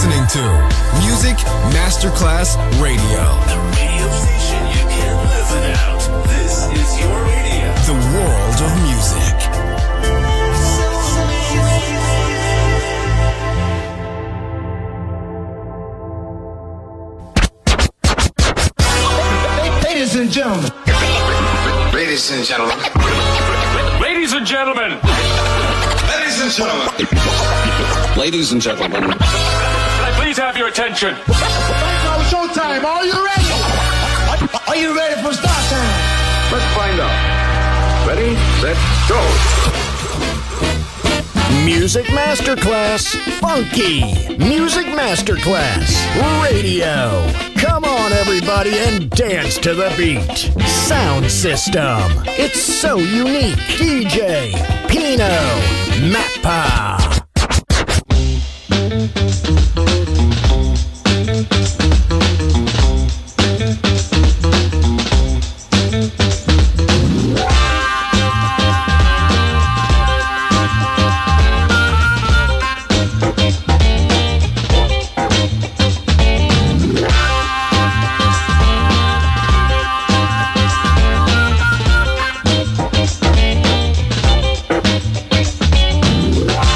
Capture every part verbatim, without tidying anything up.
listening to Music Masterclass Radio. The radio station you can't live without. This is your radio. The world of music. Ladies and gentlemen. Ladies and gentlemen. Ladies and gentlemen. Ladies and gentlemen. Ladies and gentlemen. Can I please have your attention? Now showtime. Are you ready? Are you ready for start time? Let's find out. Ready, set, go. Music Masterclass Funky. Music Masterclass Radio. Come on, everybody, and dance to the beat. Sound system. It's so unique. D J Pino Mappa. Wow.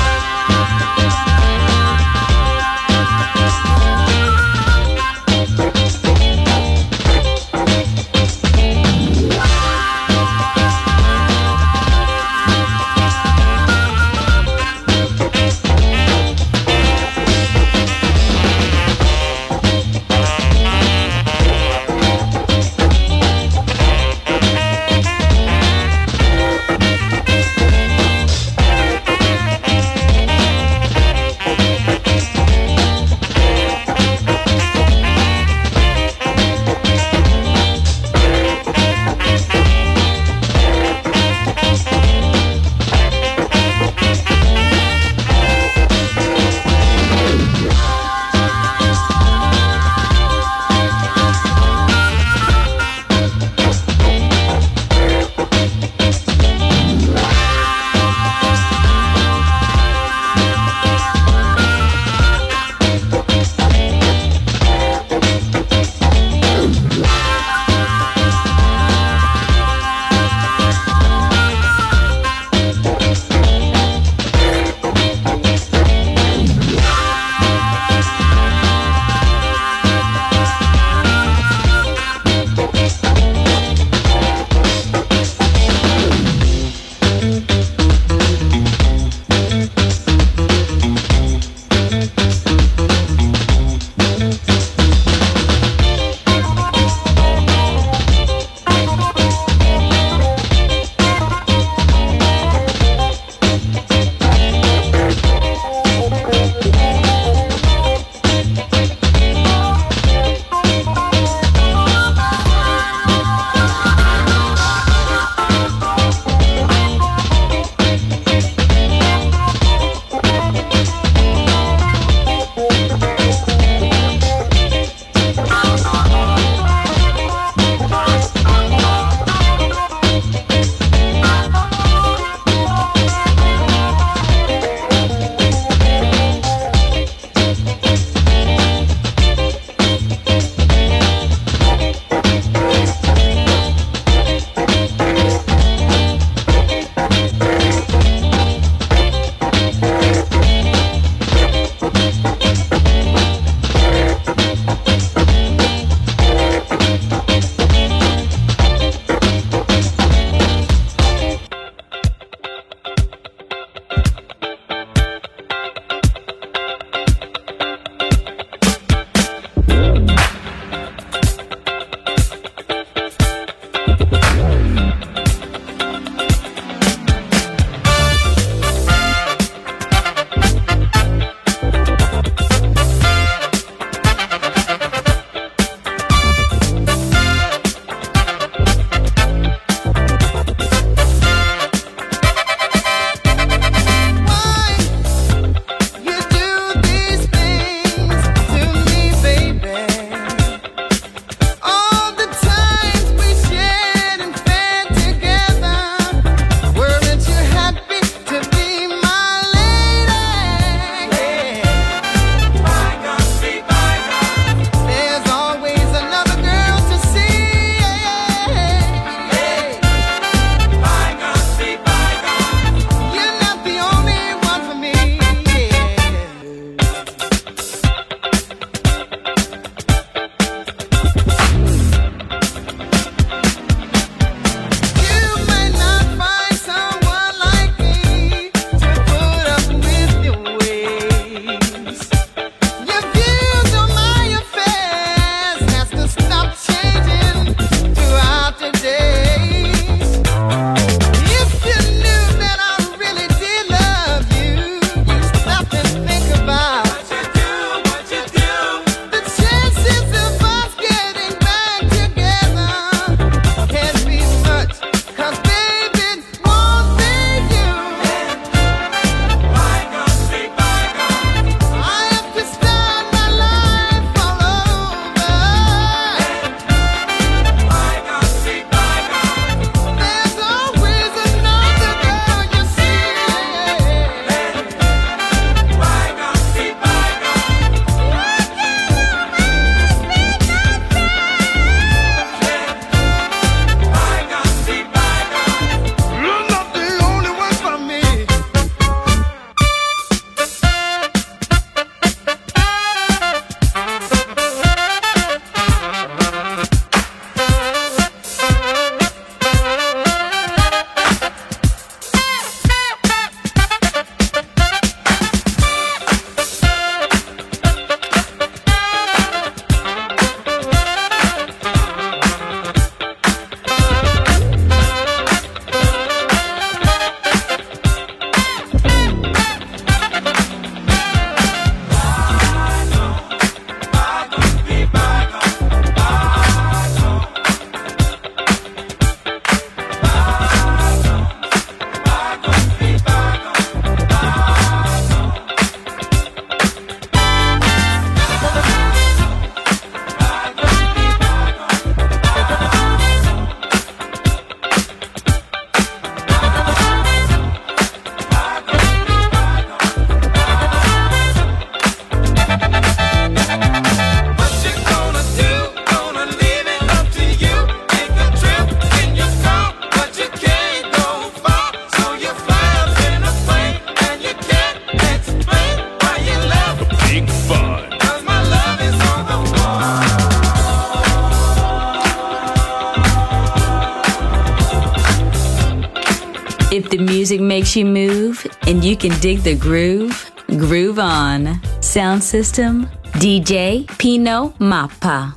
music makes you move and you can dig the groove, groove on. Sound system, D J Pino Mappa.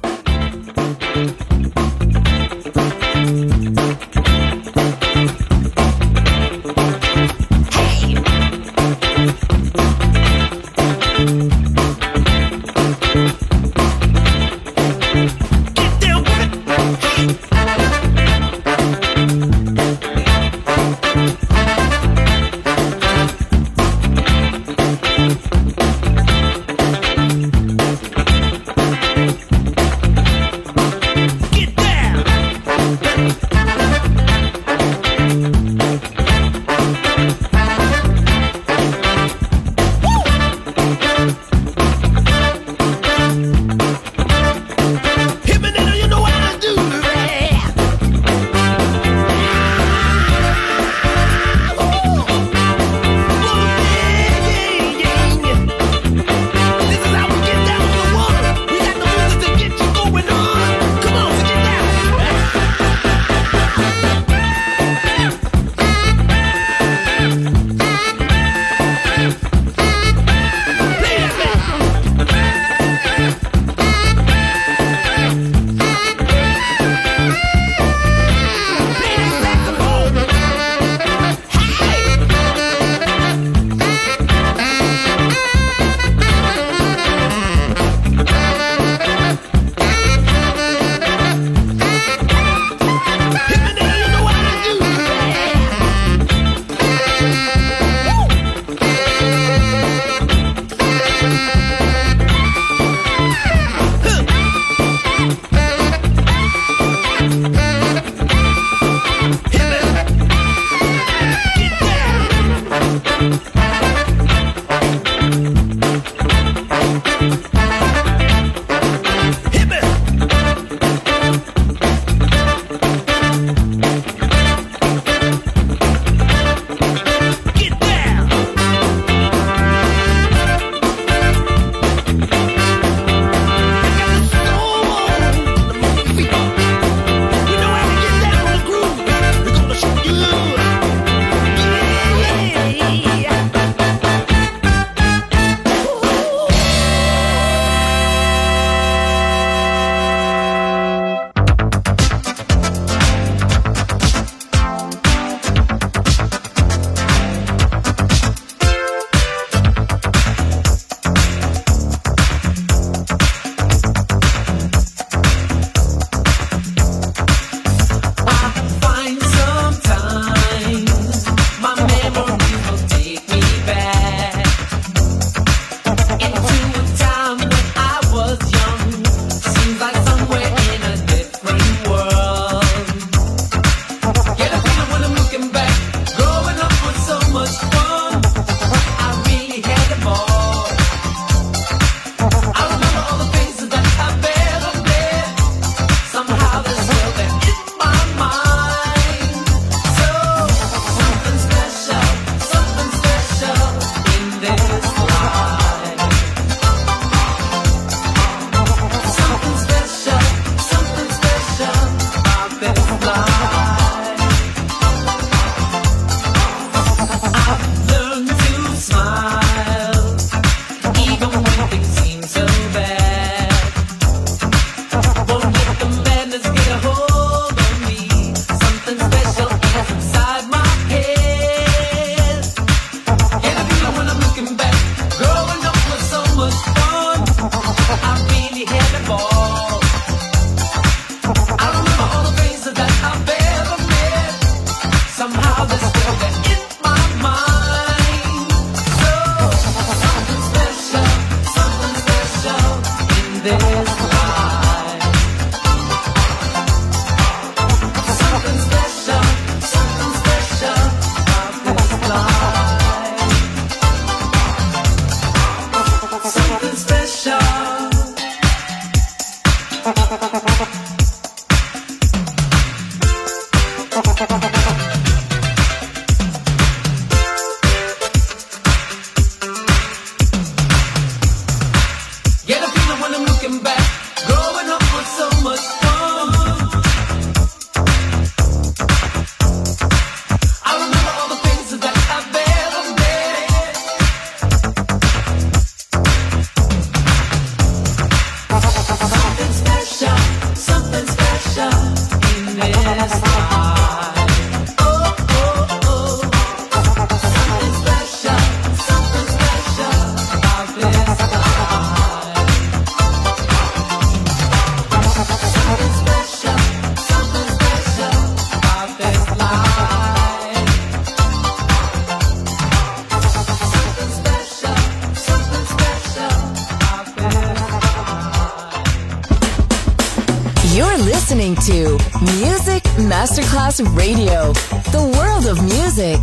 to Music Masterclass Radio, the world of music.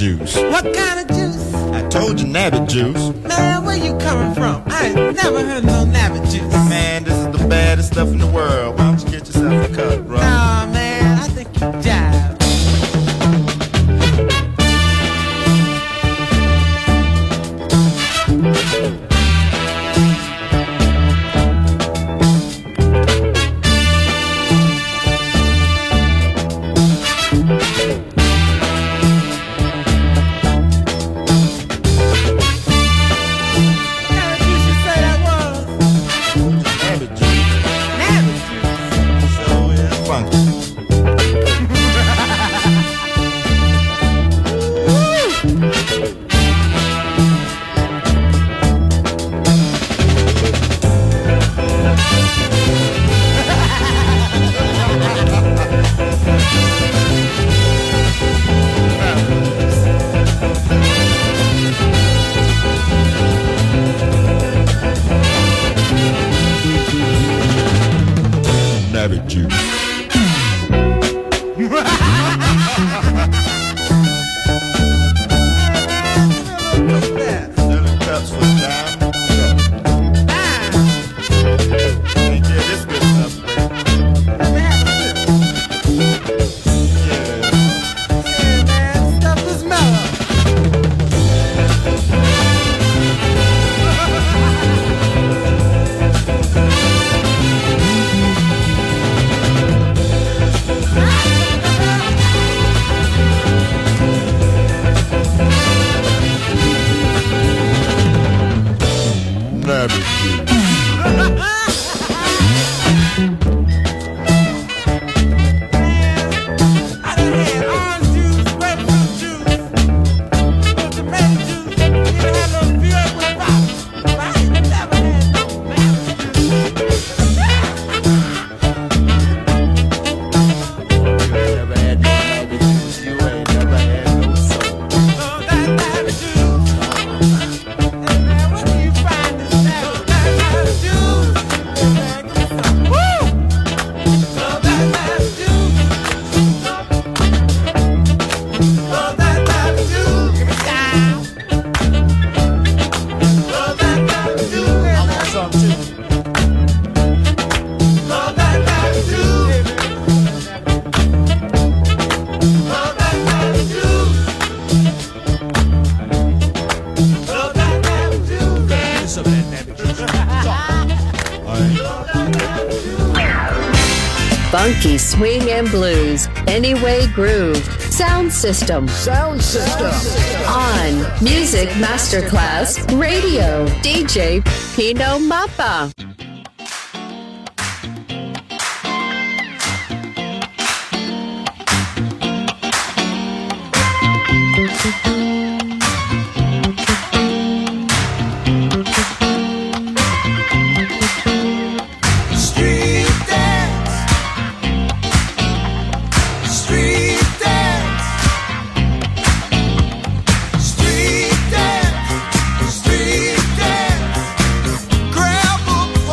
juice. What kind of juice? I told you nabbit juice. Man, where you coming from? I ain't never heard no nabbit juice. Man, this is the baddest stuff in the world. Why don't you get yourself a cup, bro? Nah, man, I think you jive. Nabbit juice. Funky swing and blues, Anyway Groove, Sound System, Sound System, on Music Masterclass Radio, D J Pino Mappa. Street dance, street dance, grab a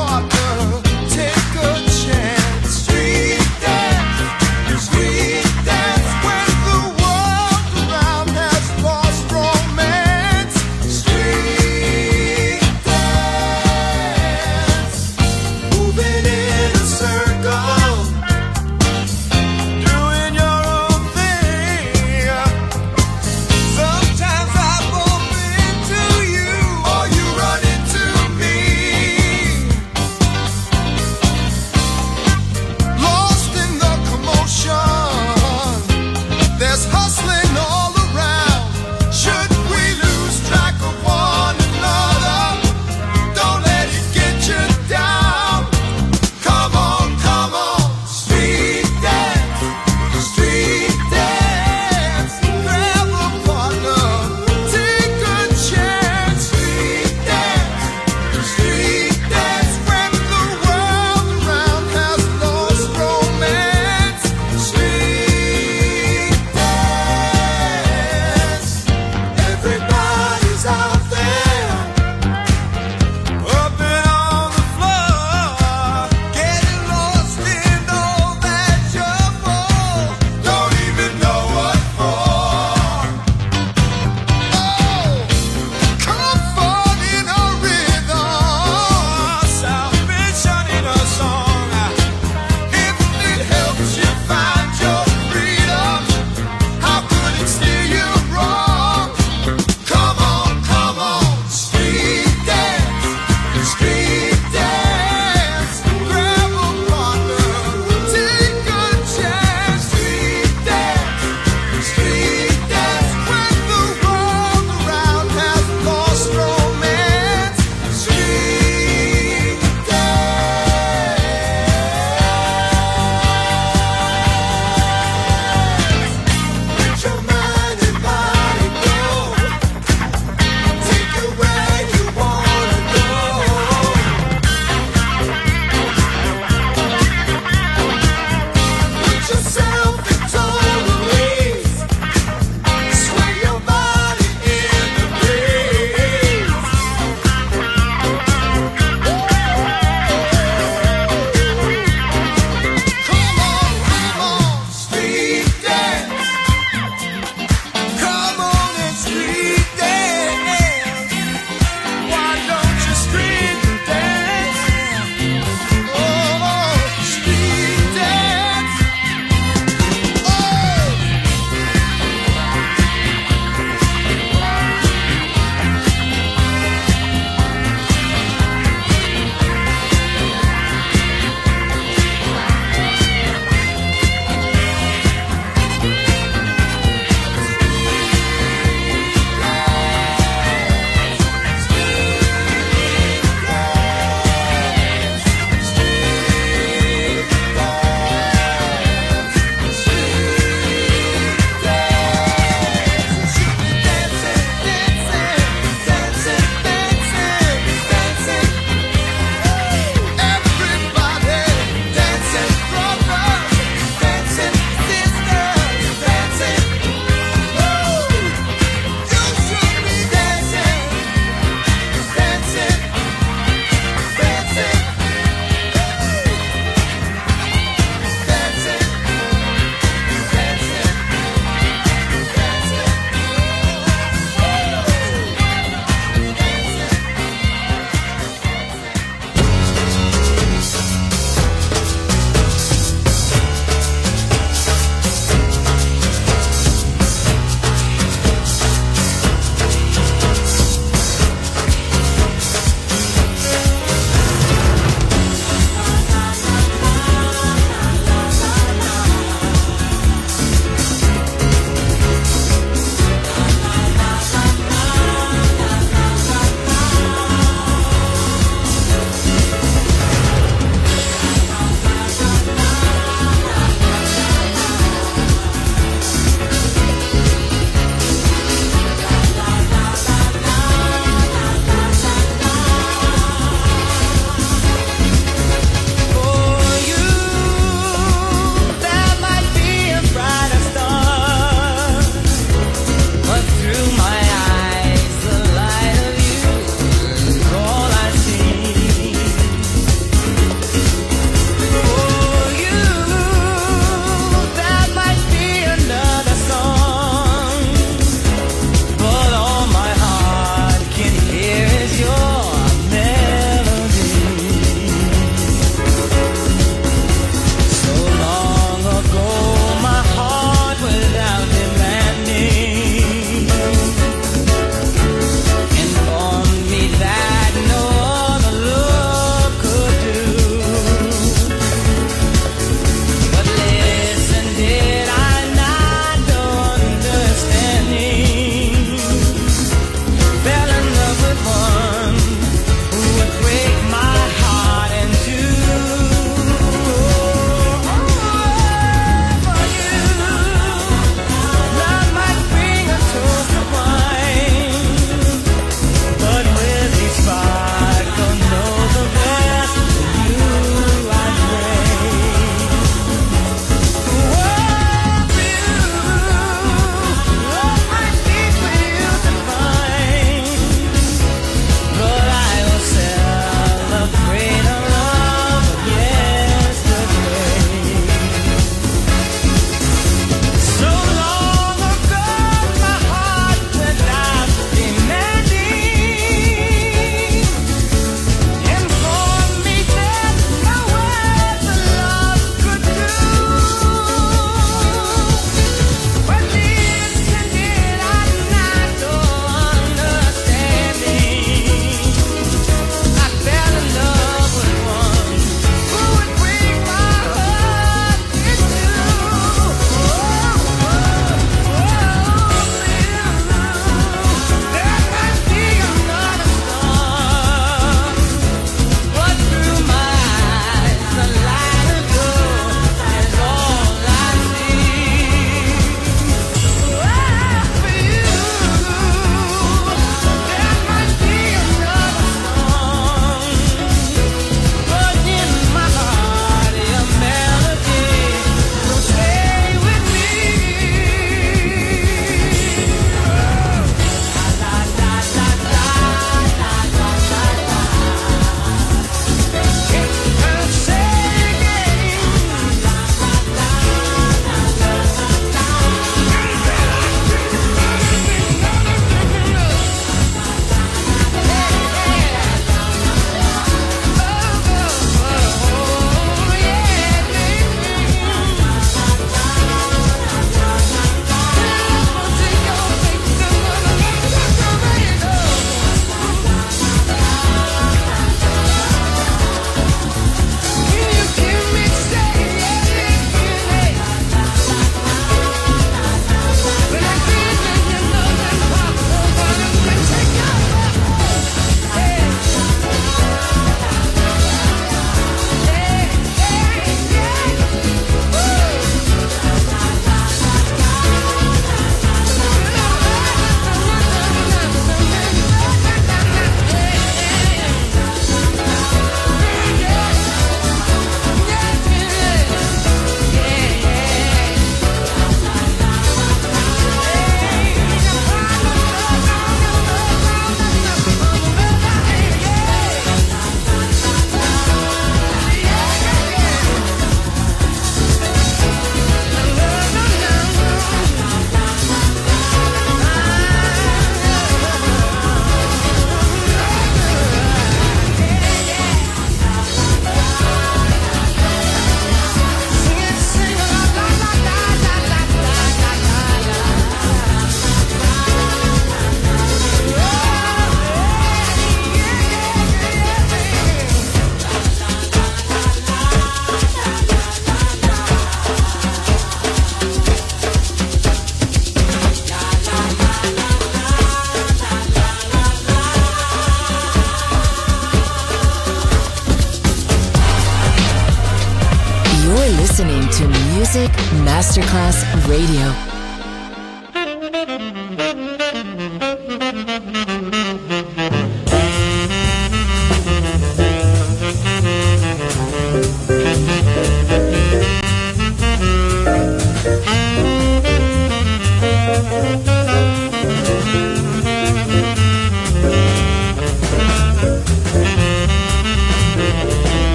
Music Masterclass Radio.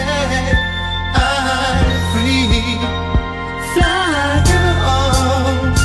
Fly on.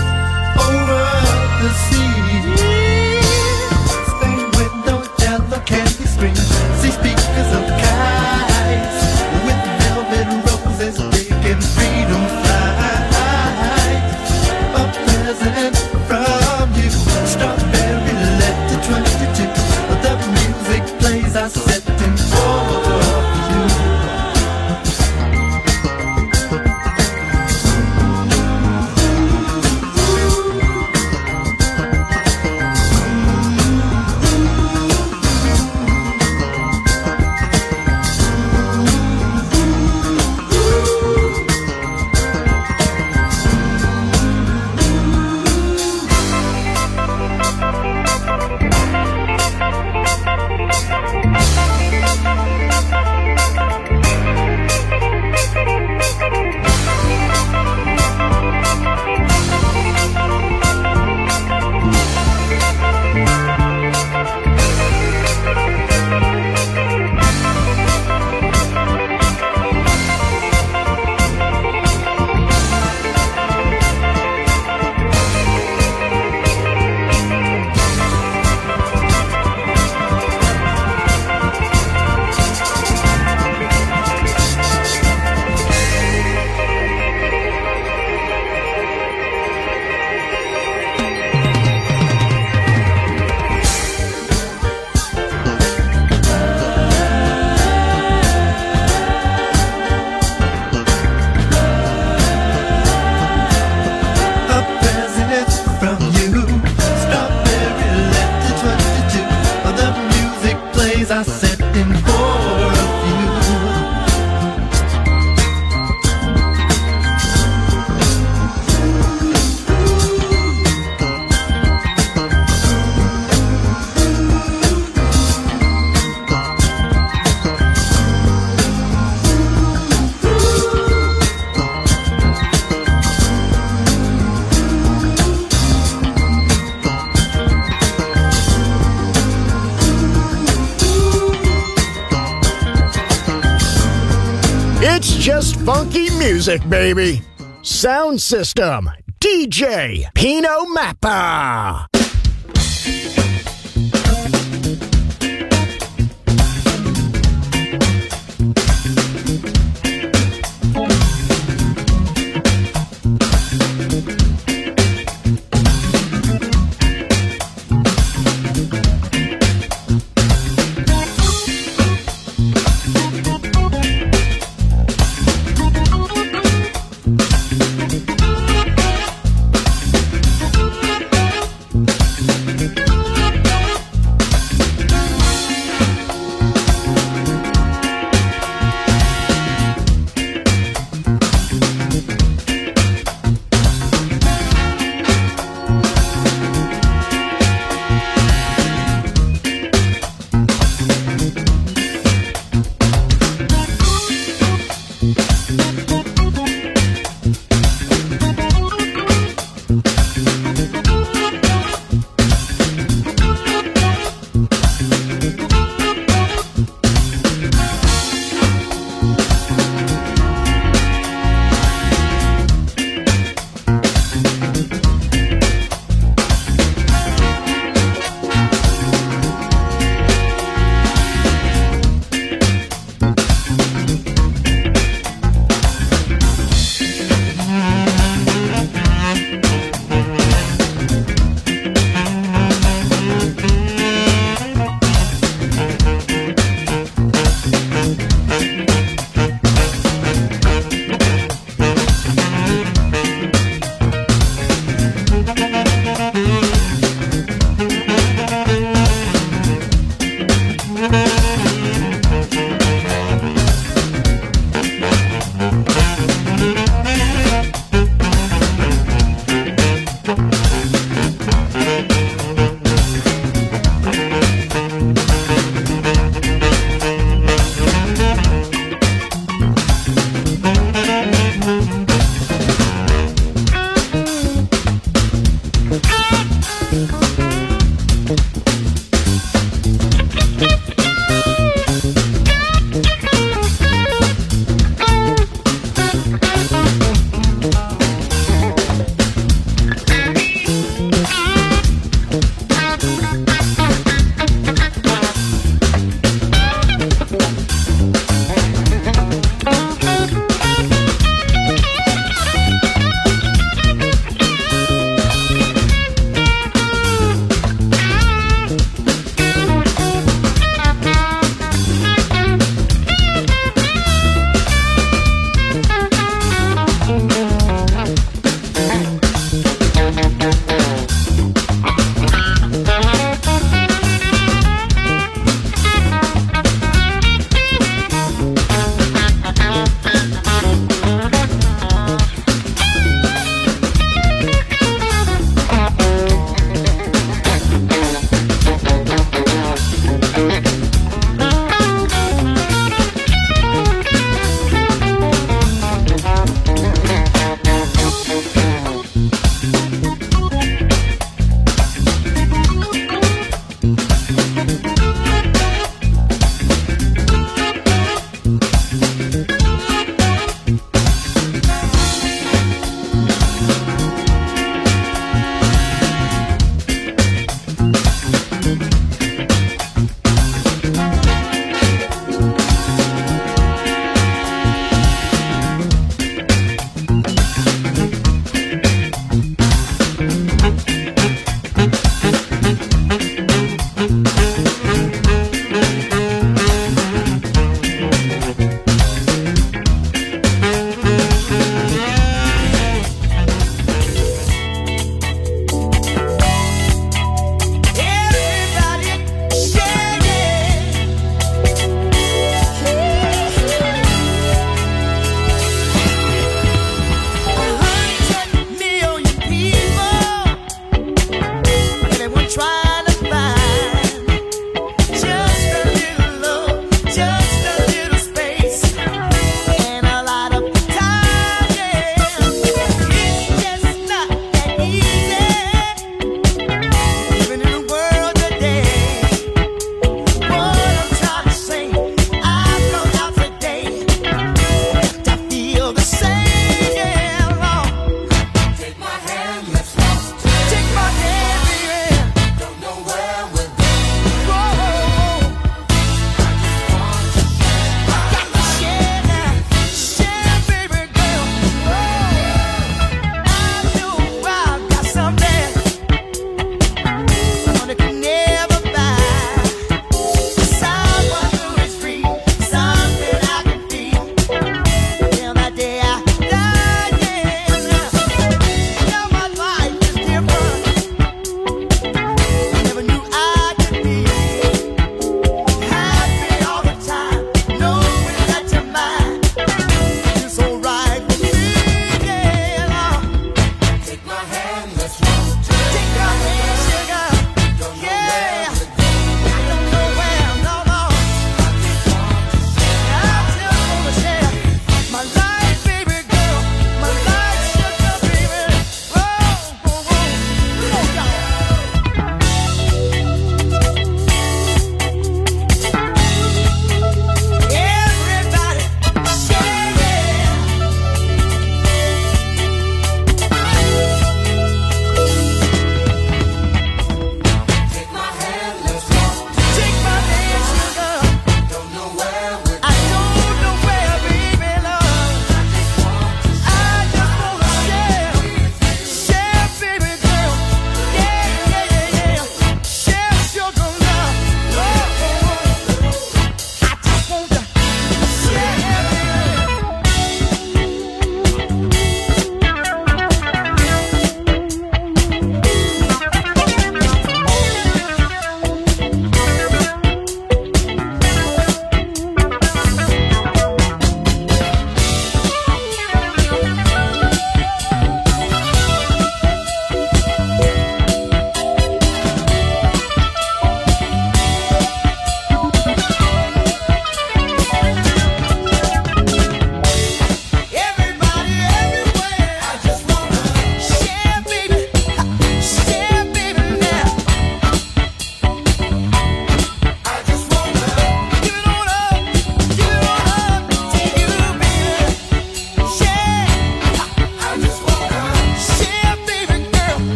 funky music, baby. Sound system, D J Pino Mappa. We'll be right back.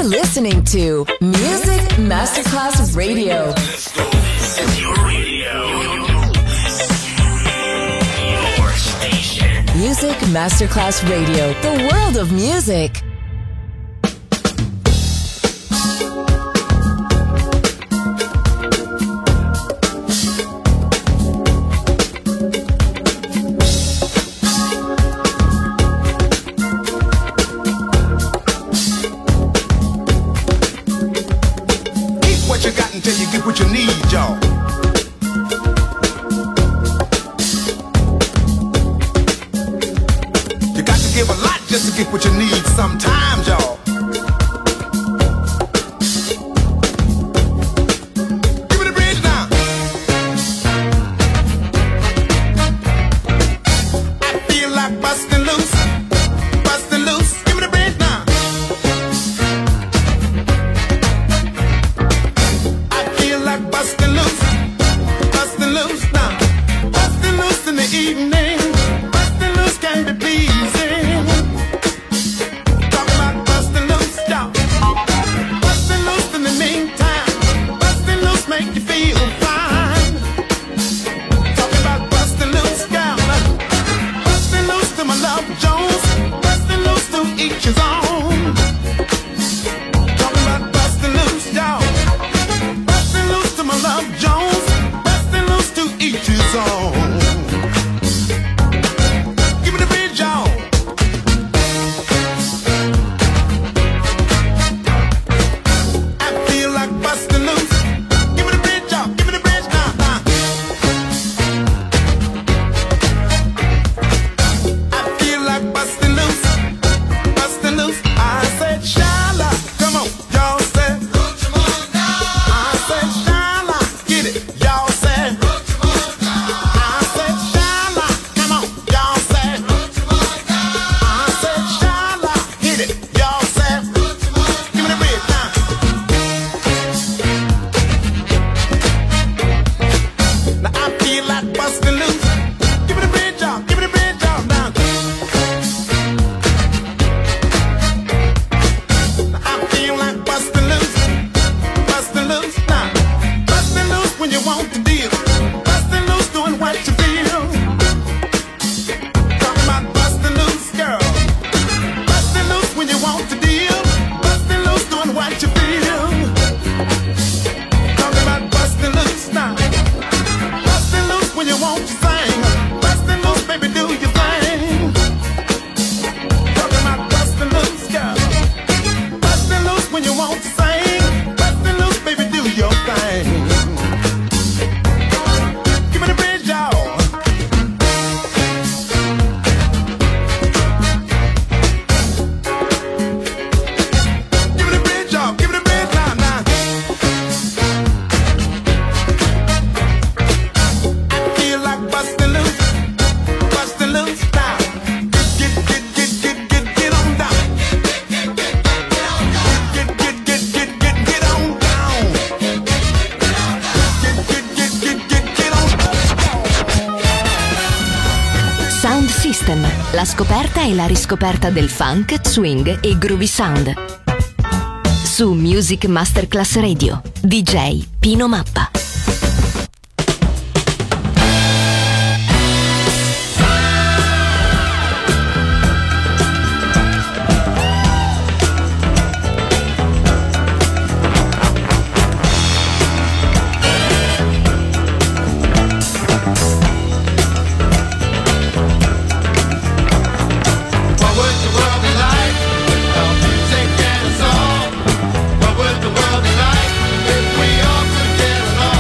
listening to Music Masterclass Radio. This is your radio. Your station. Music Masterclass Radio. The world of music. Until you get what you need, y'all. You got to give a lot just to get what you need sometimes, y'all. Give me the bridge now. I feel like busting loose, busting loose. Give me the bridge now. Bustin' loose, bustin' loose now. Bustin' loose in the evening. Bustin' loose can be pleasing. Talking about bustin' loose, y'all. Bustin' loose in the meantime. Bustin' loose make you feel fine. Talking about bustin' loose, y'all. Bustin' loose to my love Jones. Bustin' loose to each his own. Talking about bustin' loose, y'all. My love Jones, bustin' loose to each his own. Give me the bridge, y'all. I feel like bustin' loose. Give me the bridge, y'all. Give me the bridge, now, now. I feel like bustin' loose, bustin' loose. I said, Shala, come on, y'all said. I said, Shala. Y'all said, I said, Shala, come on, y'all said, I said, Shala, hit it, y'all said, give me the bridge now. Now I feel like busting loose. Give me the bridge, y'all, give me the bridge, y'all now. Now I feel like busting loose, busting loose now. Bustin' loose when you want to deal. Bustin' loose doing what you feel. Talking about bustin' loose, girl. Bustin' loose when you want to deal. Bustin' loose doing what you feel. Talking about bustin' loose now. Bustin' loose when you want to sing. Bustin' loose, baby, do your thing. Talking about bustin' loose, girl. Bustin' loose when you want to sing. Bustin' loose, baby, do your thing. Give me the bridge, y'all. Give me the bridge, y'all. Give me the bridge now, now. I feel like bustin' loose, bustin' loose now. Get, get, get, get, get, get on down. Get, get, get, get, get, get on down. Get, get, get, get, get, get on down. Sound System, la scoperta e la riscoperta del funk, swing e groovy sound. Su Music Masterclass Radio, D J Pino Mappa. What would the world be like without music and a song? What would the world be like if we all could get along?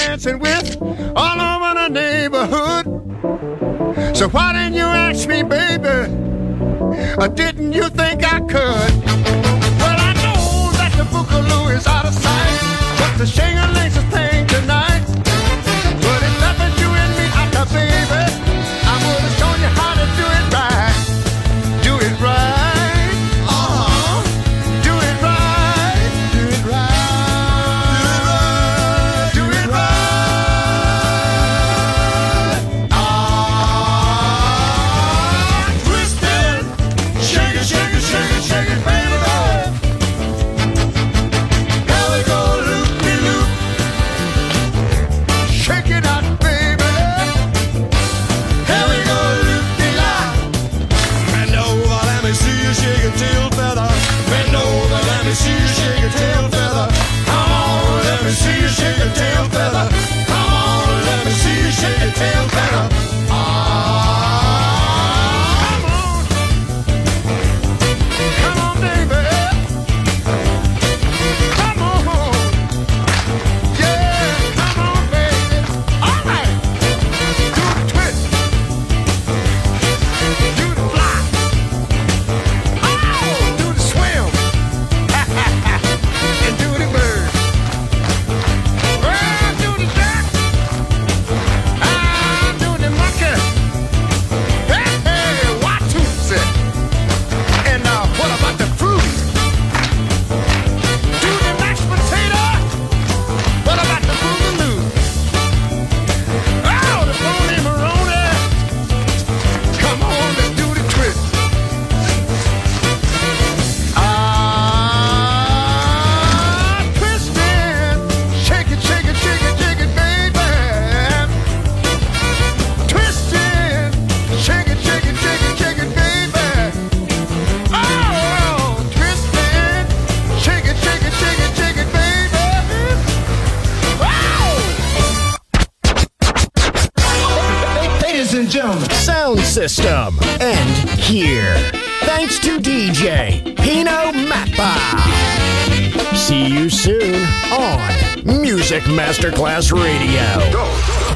dancing with all over the neighborhood. So why didn't you ask me, baby? Or didn't you think I could? Well, I know that the Boogaloo is out of sight, but the shing-a-ling's a thing tonight. But if that was you and me out there, baby, I would have shown you how to do it right. Do it right. Uh-huh. Do it right. Do it right. Do it right. Ah, twist it. Shake it, shake it, shake it, shake it, baby. Here we go, loop-de-loop. Shake it out, baby. Here we go, loop-de-lop. Bend over, let me see you shake your tail feather. Bend over, let me see you shake your tail feather. Come on, let me see you shake your tail feather. Come on, let me see you shake your tail feather. Ah, come on. Come on, baby. Come on. Yeah, come on, baby. All right. Do the twist. Do the fly. Oh, do the swim. And do the bird. Well, do the duck. Ah, do the monkey. Hey, hey, Watusi. And uh, what about the fruit? Do the mashed potato. What about the boogaloo? Oh, the bony maroni. Come on, let's do the twist. Ah, twisting. Shake it, shake it, shake it, shake it, baby. Twisting. Shake it, shake it, shake it, shake it, baby. Oh, twisting. Shake it, shake it, shake it, shake it, baby. Wow! Ladies and gentlemen, Sound System. And here, thanks to D J Pino Mappa. See you soon on Music Masterclass Radio.